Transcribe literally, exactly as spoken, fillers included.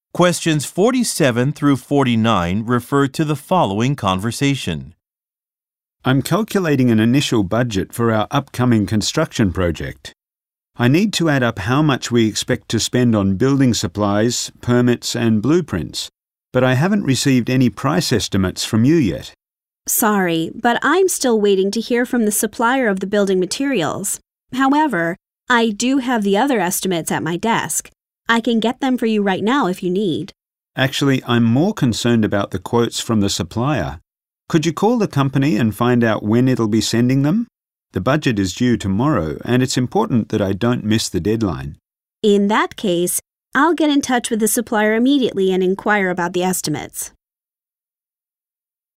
Questions forty-seven through forty-nine refer to the following conversation. I'm calculating an initial budget for our upcoming construction project. I need to add up how much we expect to spend on building supplies, permits and blueprints, but I haven't received any price estimates from you yet. Sorry, but I'm still waiting to hear from the supplier of the building materials. However, I do have the other estimates at my desk. I can get them for you right now if you need. Actually, I'm more concerned about the quotes from the supplier. Could you call the company and find out when it'll be sending them? The budget is due tomorrow, and it's important that I don't miss the deadline. In that case, I'll get in touch with the supplier immediately and inquire about the estimates.